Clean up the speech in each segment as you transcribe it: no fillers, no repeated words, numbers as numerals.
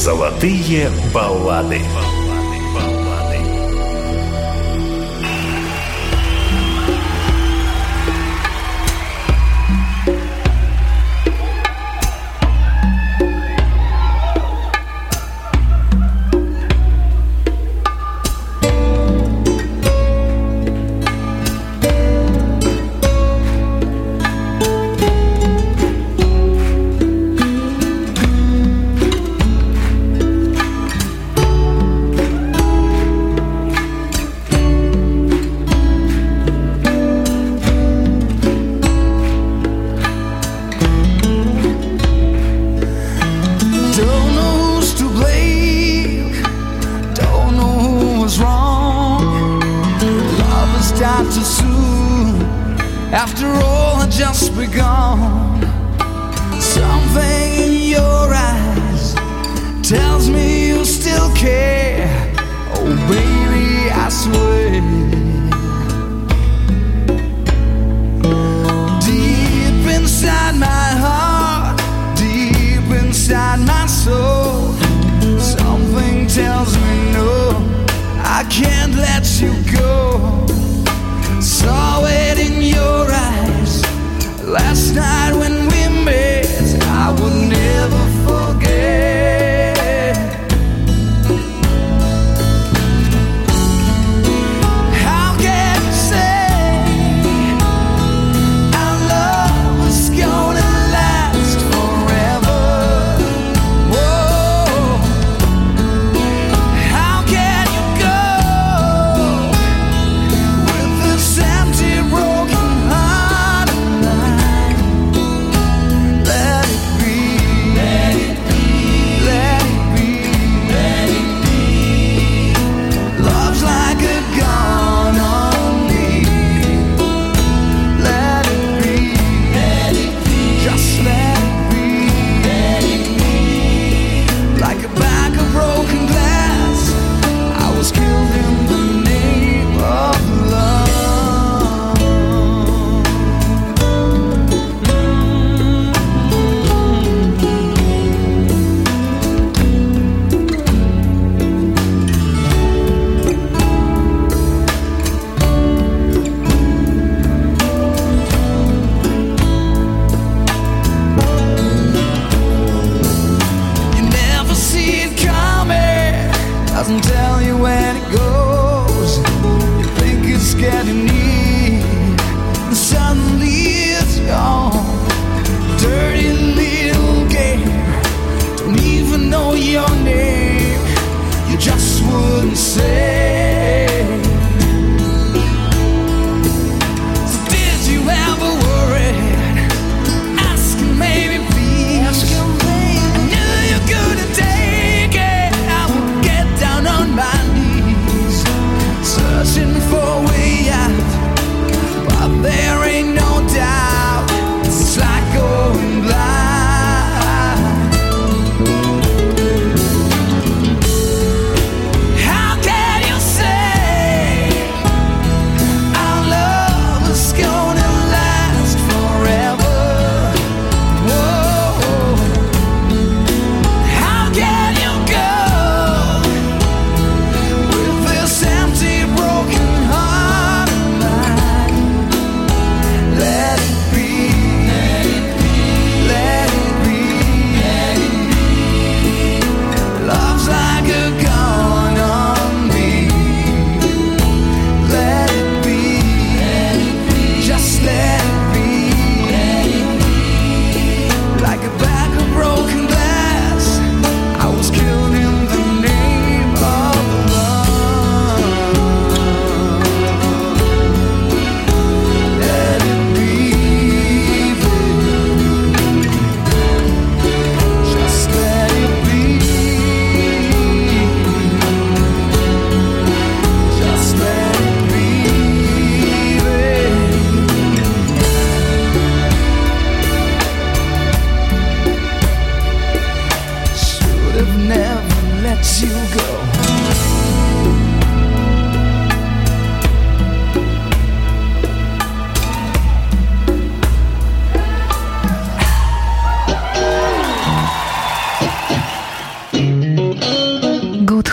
Золотые баллады. After all had just begun, something in your eyes tells me you still care. Oh baby, I swear. Deep inside my heart, deep inside my soul, something tells me no, I can't let you go. Saw it in your eyes last night when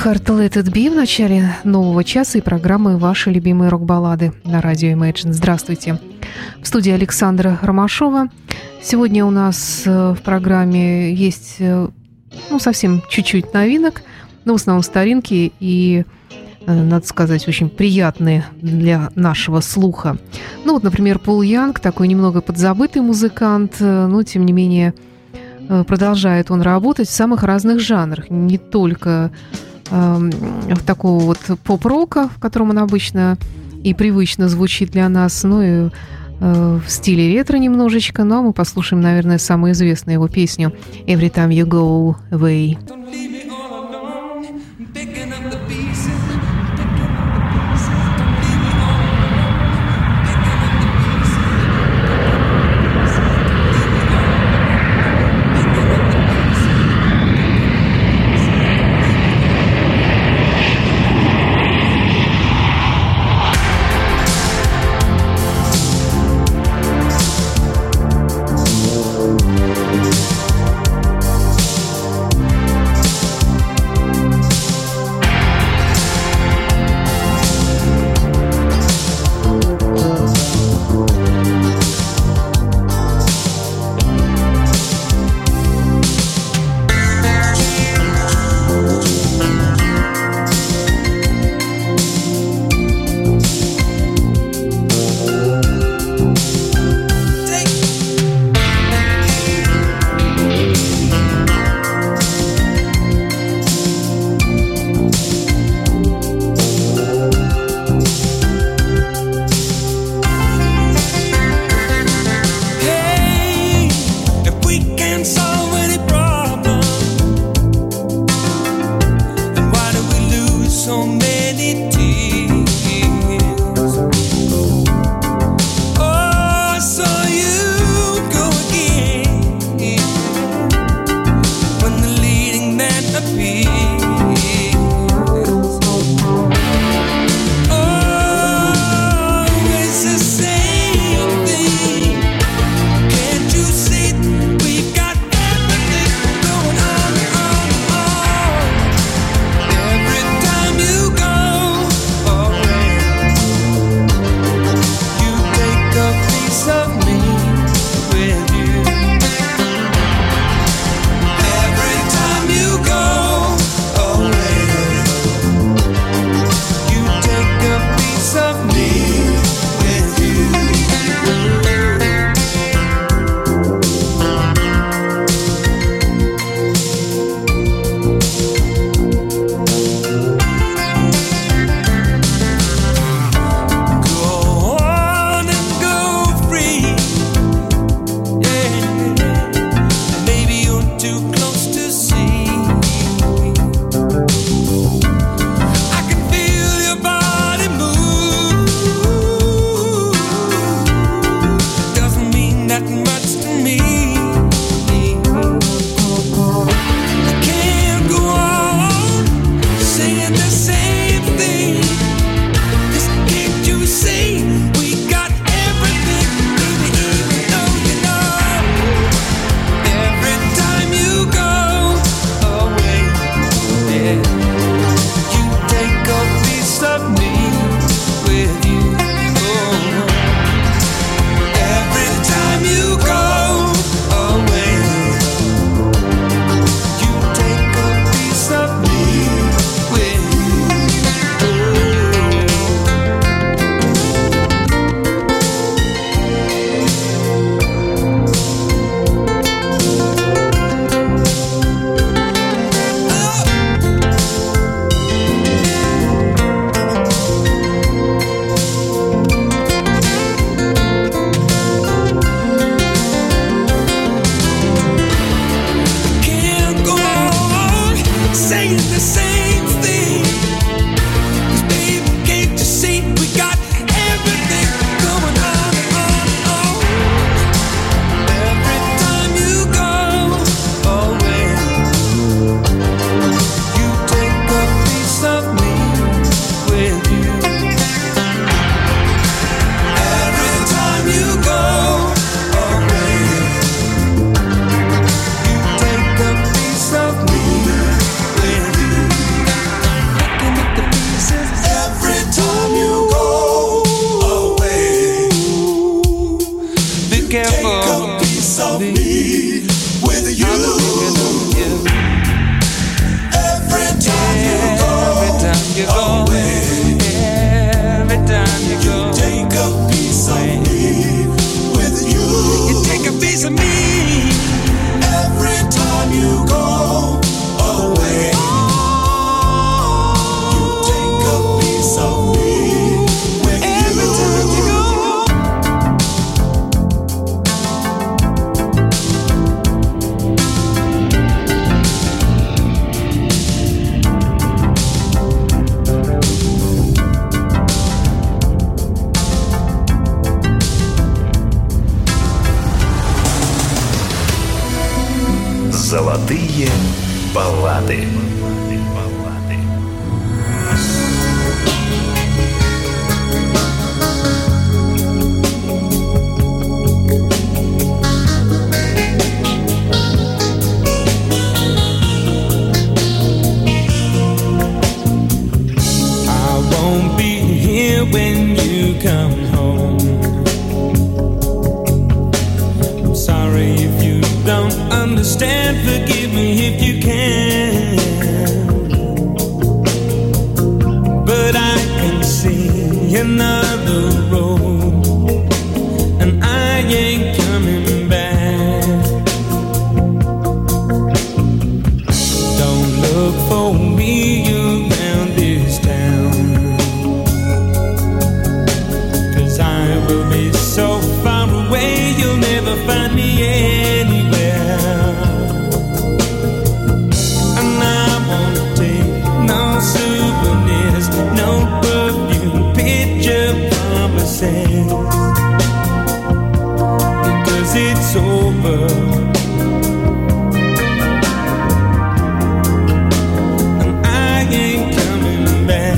Hard Let It Be в начале нового часа и программы «Ваши любимые рок-баллады» на радио Imagine. Здравствуйте. В студии Александра Ромашова. Сегодня у нас в программе есть, совсем чуть-чуть новинок, но в основном старинки и, надо сказать, очень приятные для нашего слуха. Например, Пол Янг, такой немного подзабытый музыкант, но, тем не менее, продолжает он работать в самых разных жанрах, не только в такого вот поп-рока, в котором он обычно и привычно звучит для нас, но и в стиле ретро немножечко. А мы послушаем, наверное, самую известную его песню «Every Time You Go Away». Золотые баллады. When you come home, I'm sorry if you don't understand. Forgive me if you can. But I can see another road, and I ain't coming back. Don't look for me around this town. I will be so far away, you'll never find me anywhere. And I won't take no souvenirs, no perfume, picture promises, because it's over. And I ain't coming back.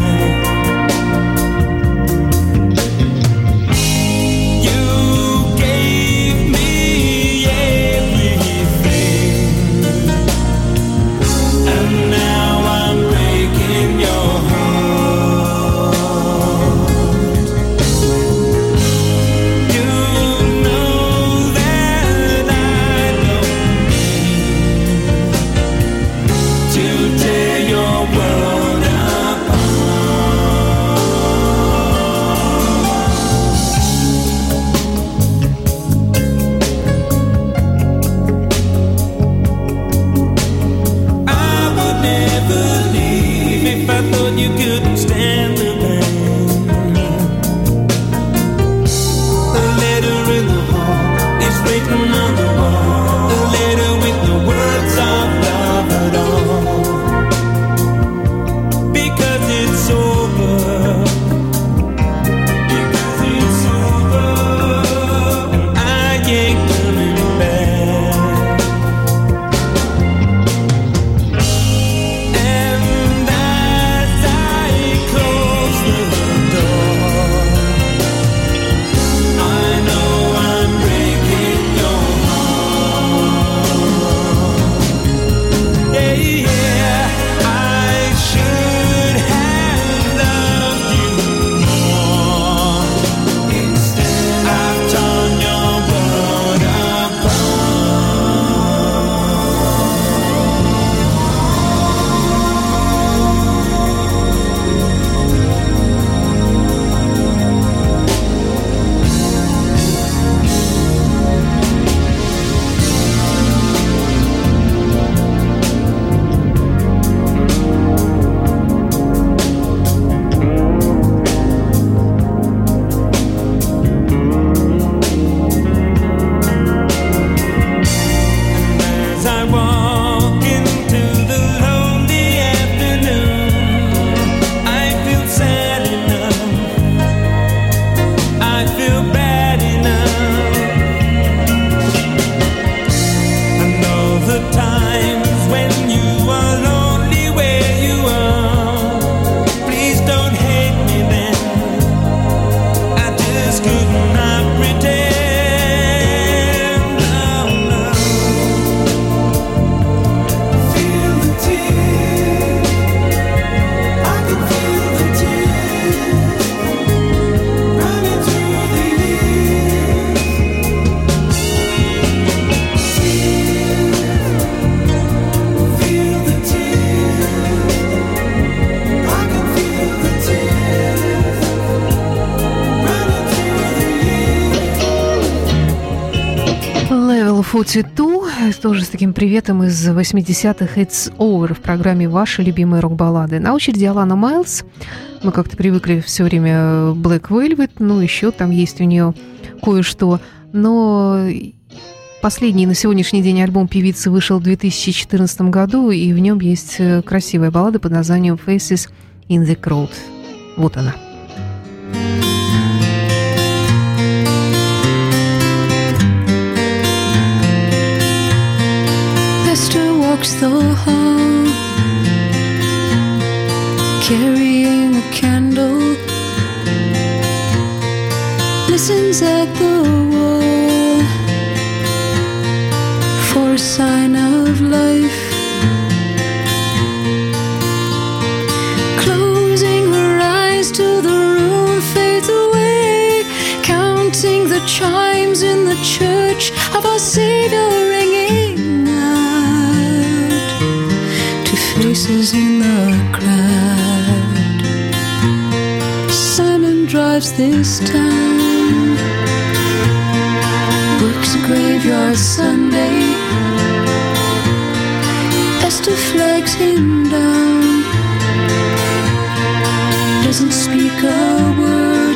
Level 42, тоже с таким приветом из 80-х, It's Over в программе «Ваши любимые рок-баллады». На очереди Алана Майлз. Мы как-то привыкли все время Black Velvet, ну еще там есть у нее кое-что. Но последний на сегодняшний день альбом певицы вышел в 2014 году, и в нем есть красивая баллада под названием «Faces in the Crowd». Вот она. There's walks the hall, carrying a candle, listens at the wall for a sign of life. Closing her eyes till the room fades away, counting the chimes in the church of our Savior ringing out to faces in the crowd. Simon drives this town, works a graveyard Sunday. Esther flags him down, doesn't speak a word.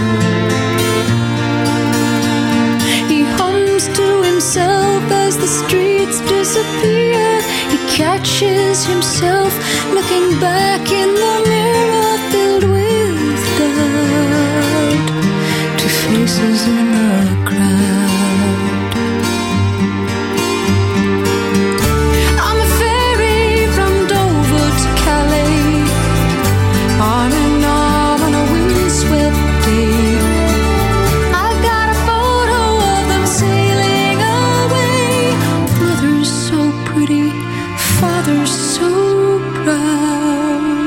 He hums to himself as the streets disappear. He catches himself looking back in the mirror filled with doubt to faces in the crowd. I'm a ferry from Dover to Calais, arm in arm on a windswept day. I've got a photo of them sailing away. Mother's so pretty, father's so proud.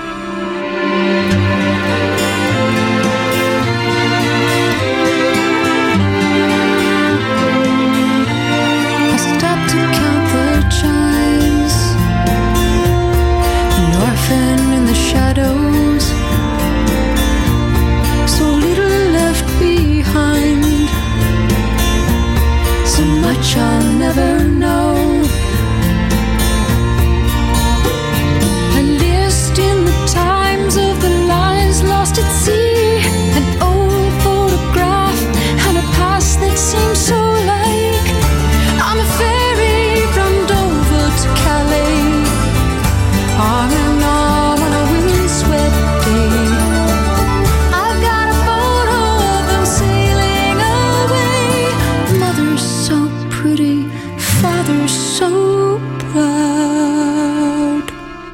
I stopped to count the chimes, an orphan in the shadows, so little left behind, so much I'll never know. A list in the times of the lives lost at sea, an old photograph and a past that seems so like. I'm a ferry from Dover to Calais, arm in arm on a windswept day. I've got a photo of them sailing away. Mother's so pretty, father's so proud.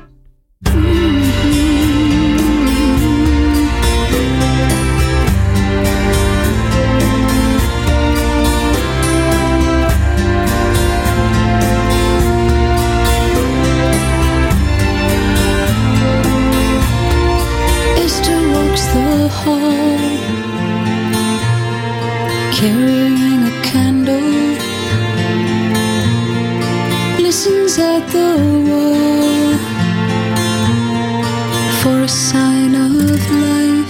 Esther walks the hall, carrying a candle, listens at the wall for a sign of life.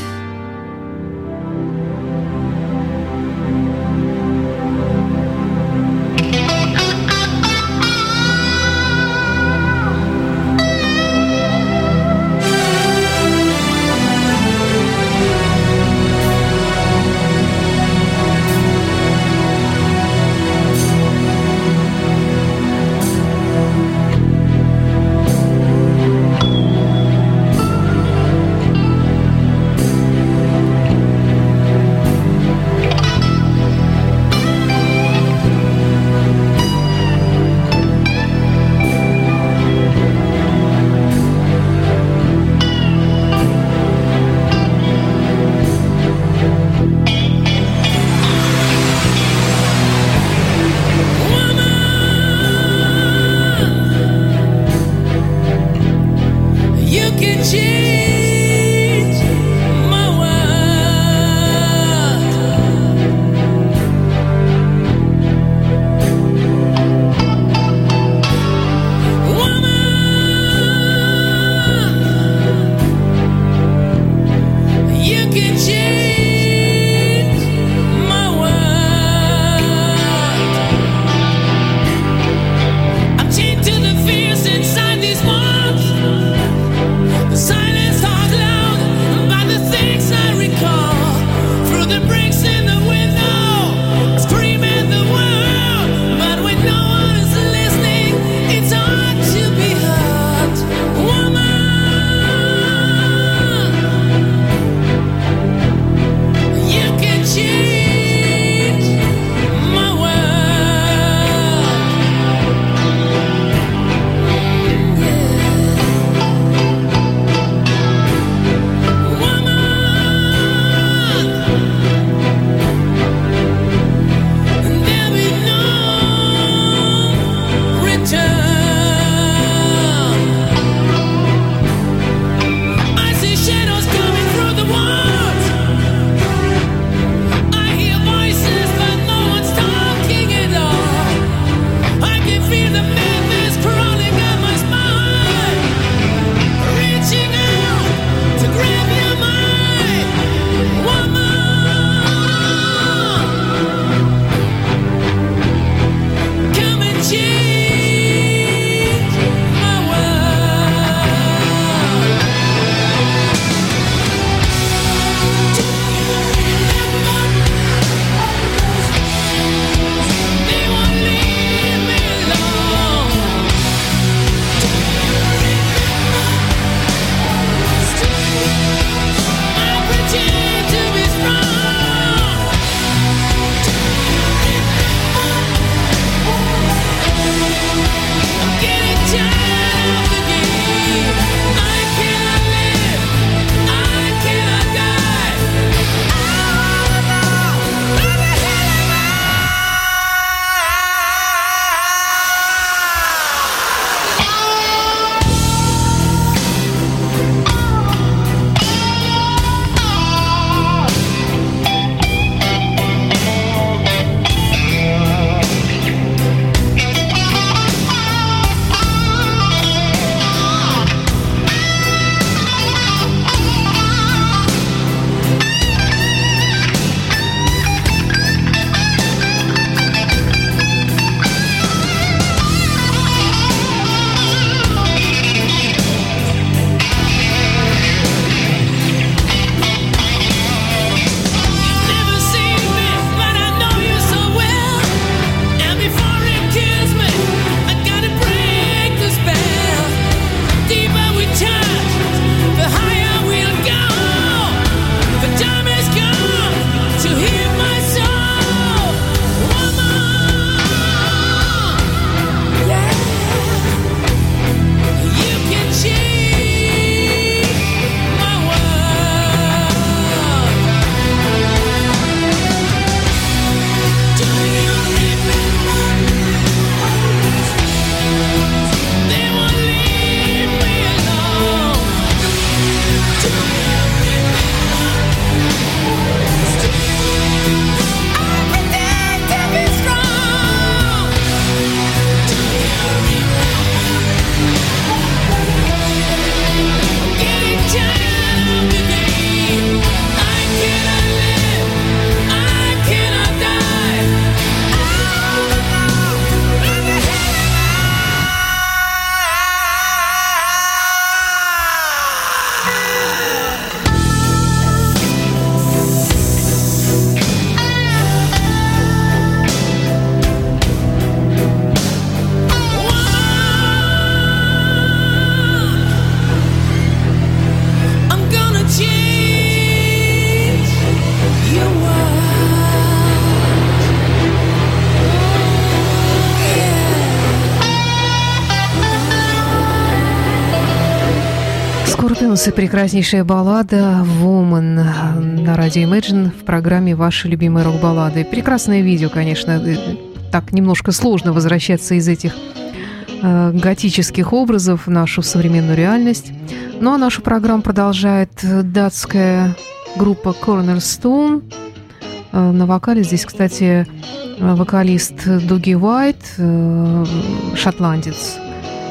Scorpions и прекраснейшая баллада «Woman» на радио Imagine в программе «Ваши любимые рок-баллады». Прекрасное видео, конечно. Так немножко сложно возвращаться из этих готических образов в нашу современную реальность. Ну а нашу программу продолжает датская группа Cornerstone. На вокале здесь, кстати, вокалист Дуги Уайт, шотландец.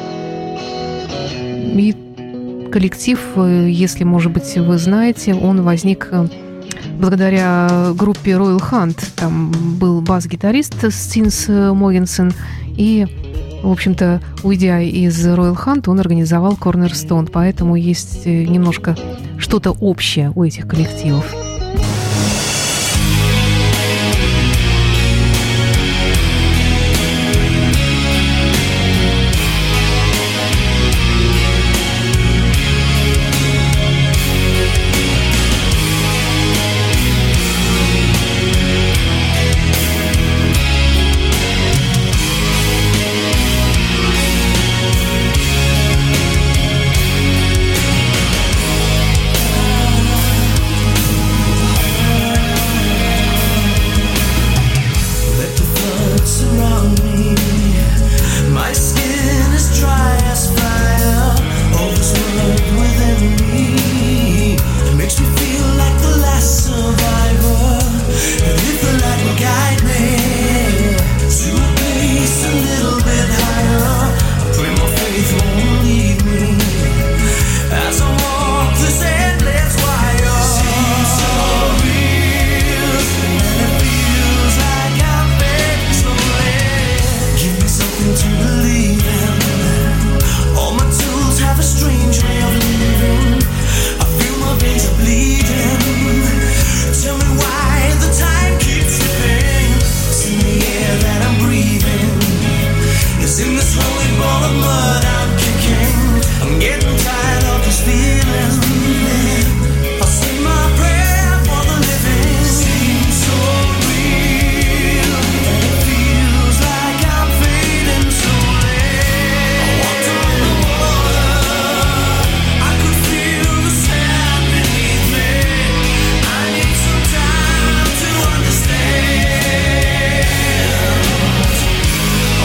И коллектив, если, может быть, вы знаете, он возник благодаря группе Royal Hunt. Там был бас-гитарист Стинс Могенсен, и, в общем-то, уйдя из Royal Hunt, он организовал Cornerstone, поэтому есть немножко что-то общее у этих коллективов.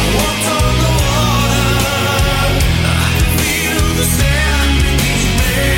Stand beneath me.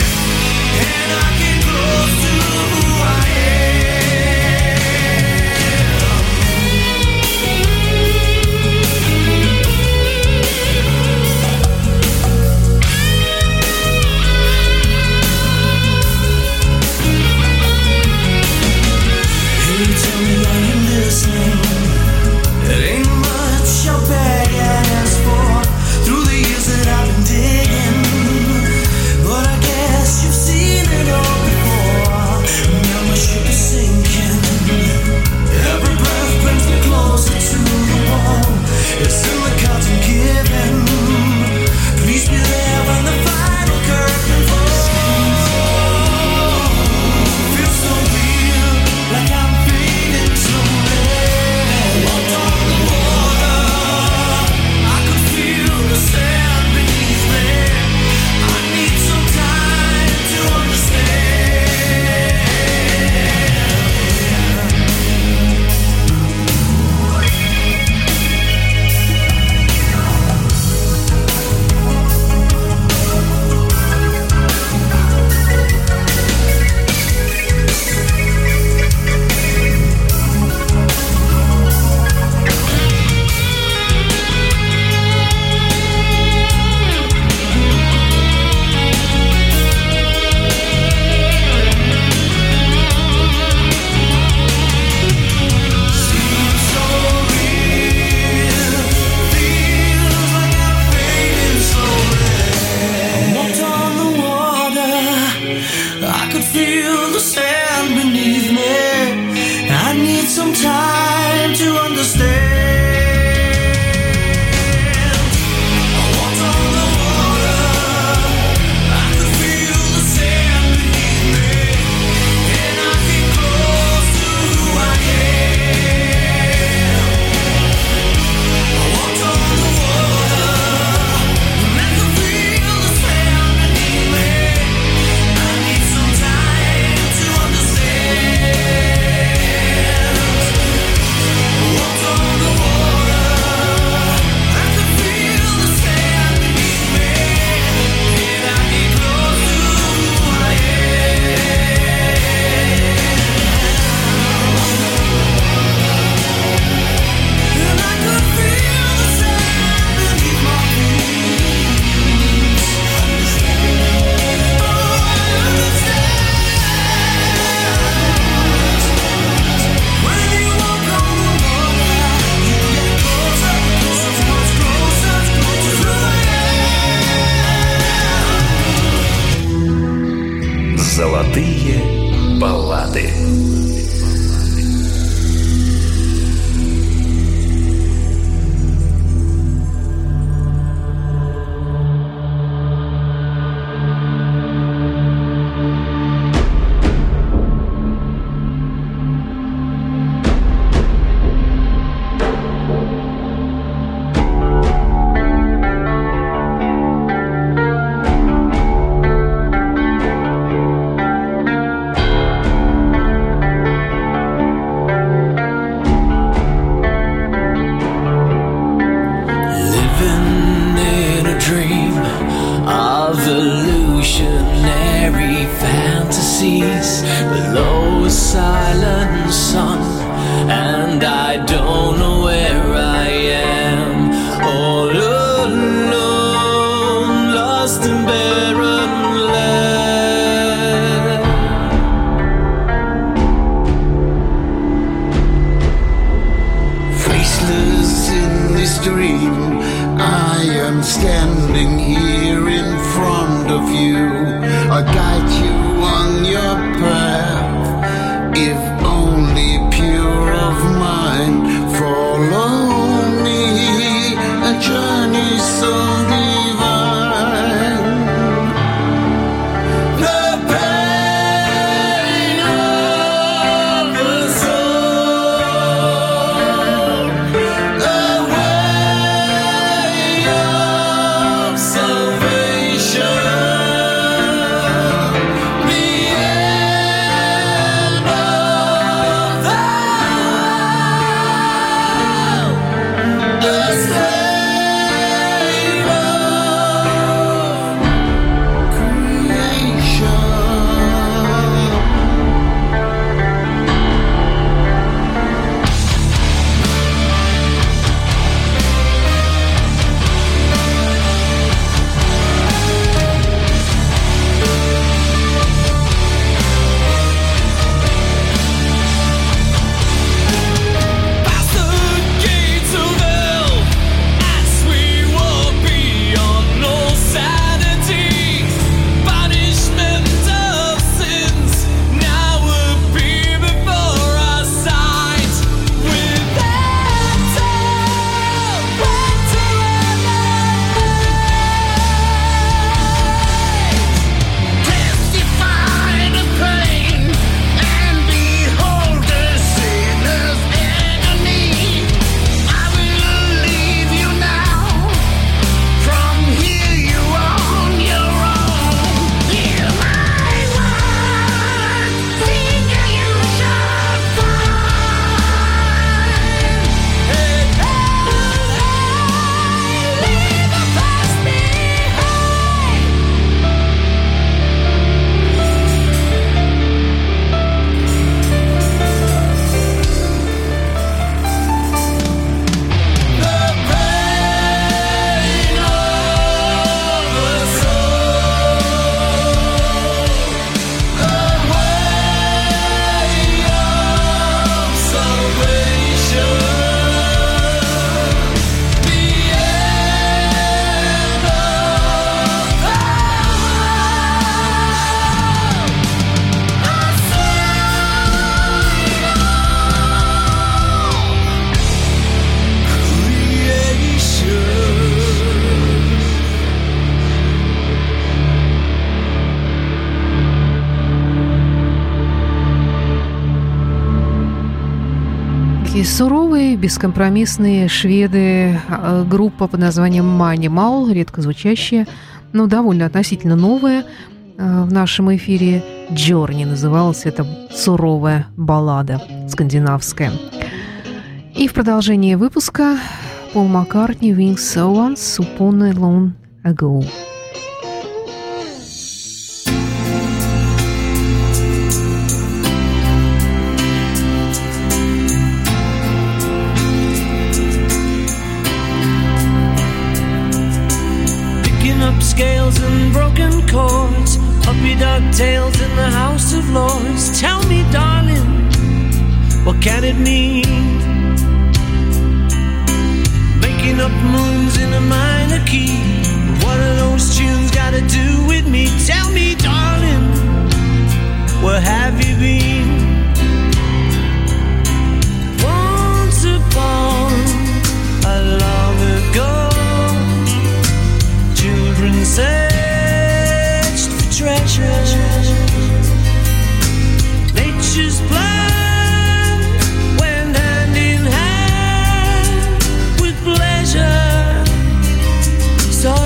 dream of illusionary fantasies below a silent sun, and I don't know where I am, all alone, lost in barren land. Faceless in this dream, I am standing here in front of you. I guide you on your path, if only pure of mind. Follow me, a journey so divine. The pain of the soul, the way of salvation, the end of the state of creation. Past the gates of hell, as we walk beyond all sanity, punishment of sins now appear before our sight. Without hope Testify the pain and behold the sinner's agony. I will leave you now. From here you on your own. Hear my words, seek and you shall find. leave the past behind. The pain of the soul, the way of salvation, the end of Такие суровые, бескомпромиссные шведы, группа под названием Manimal, редко звучащая, но довольно относительно новая. В нашем эфире Journey называлась эта суровая баллада скандинавская. И в продолжении выпуска Пол Маккартни Wings Once Upon a Long Ago. picking up scales and broken chords, puppy dog tails in the House of Lords. Tell me, darling, what can it mean? Making up moons in a minor key. What are those tunes got to do with me? Tell me, darling, where have you been? Once upon a long ago, children searched for treasure. Nature's plan went hand in hand with pleasure. Saw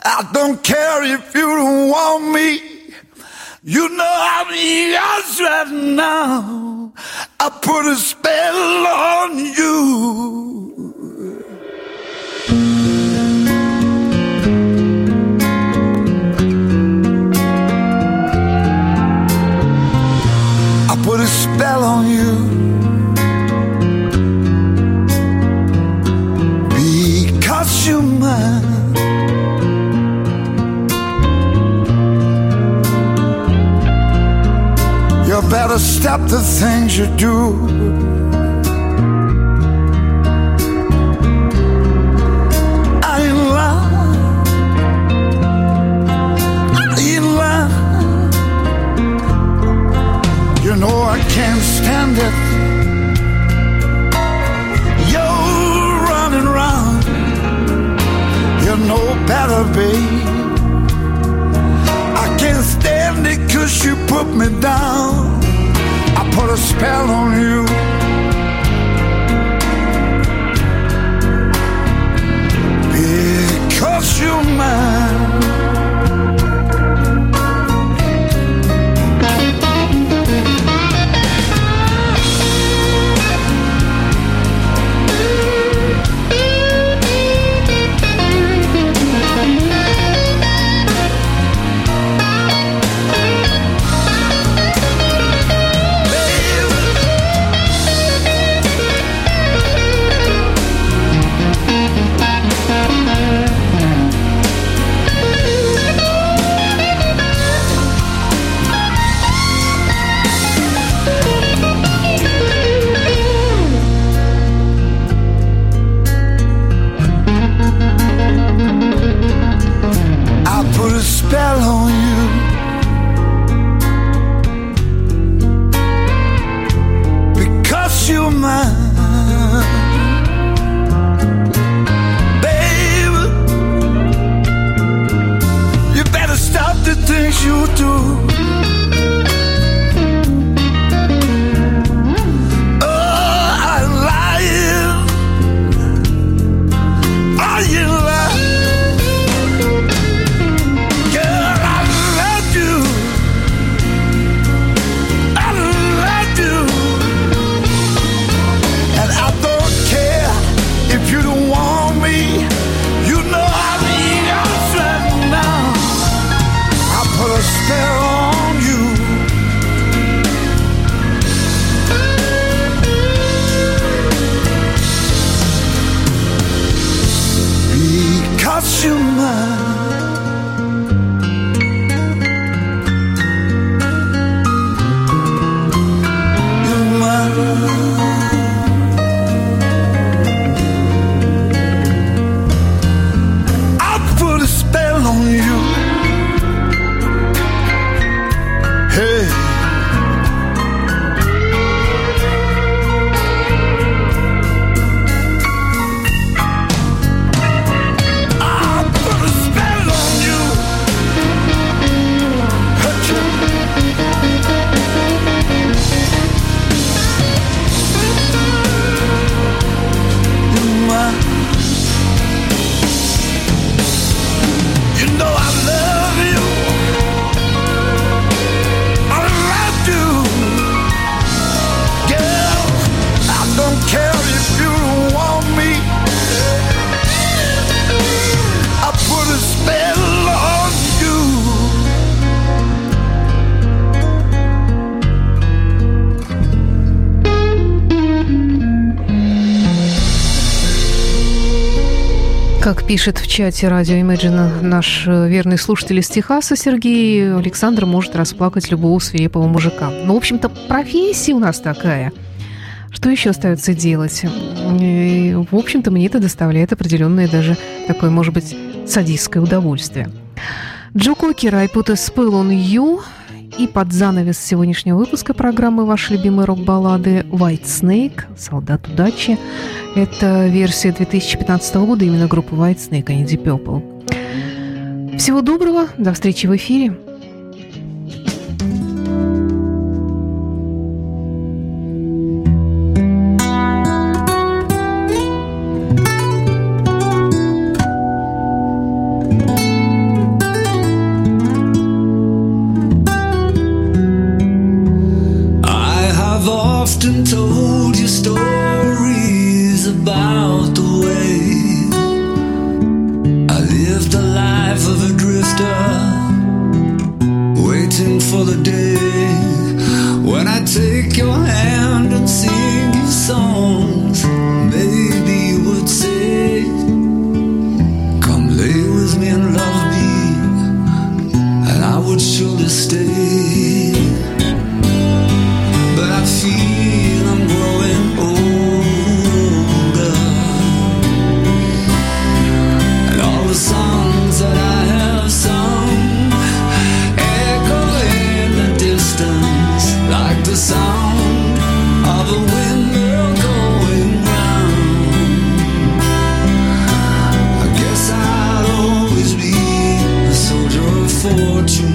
I don't care if you don't want me. You know I'm yours right now. I put a spell on you. I put a spell on you. Because you're mine. You better stop the things you do. I ain't lying. I ain't lying. You know I can't stand it. You're running round. You know better, babe. I can't stand it 'cause you put me down. I put a spell on you. Because you're mine. Как пишет в чате радио Imagine наш верный слушатель из Техаса Сергей, Александр может расплакать любого свирепого мужика. Ну, в общем-то, профессия у нас такая. Что еще остается делать? И, в общем-то, мне это доставляет определенное даже такое, может быть, садистское удовольствие. Джо Кокер, I put a spell on you. И под занавес сегодняшнего выпуска программы «Ваши любимые рок-баллады» White Snake, «Солдат удачи». Это версия 2015 года именно группы White Snake, а не Deep Purple. Всего доброго, до встречи в эфире. often told you stories about the way I lived the life of a drifter, waiting for the day when I take your hand and sing you songs. Maybe you would say, come lay with me and love me, and I would surely stay. But I feel I'm growing older, and all the songs that I have sung echo in the distance like the sound of a windmill going round. I guess I'll always be a soldier of fortune.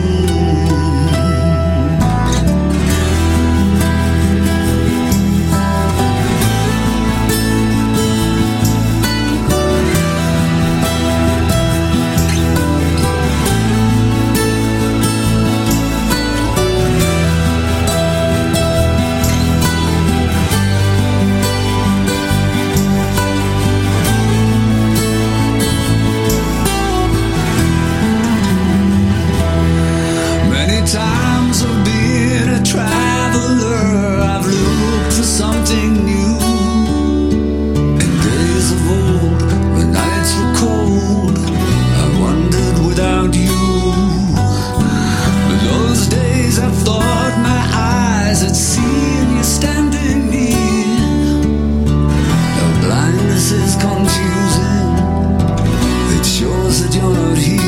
Times of being a traveler, I've looked for something new. In days of old, when nights were cold, I wandered without you. But those days I thought my eyes had seen you standing near. Your blindness is confusing, it shows that you're not here.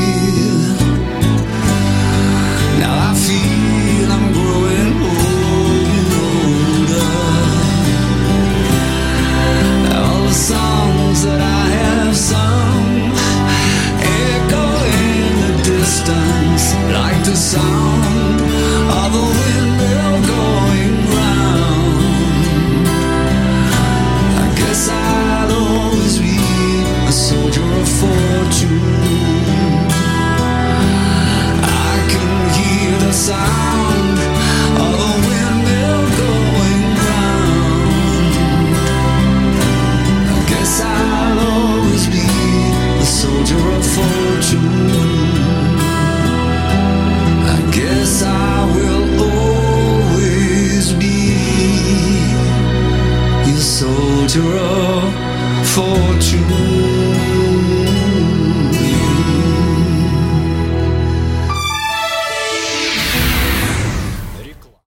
Now I feel I'm growing older. All the songs that I have sung echo in the distance like the sound of a windmill going round. I guess I'll always be a soldier of fortune. The sound of a windmill going round. I guess I'll always be a soldier of fortune. I guess I will always be a soldier of fortune.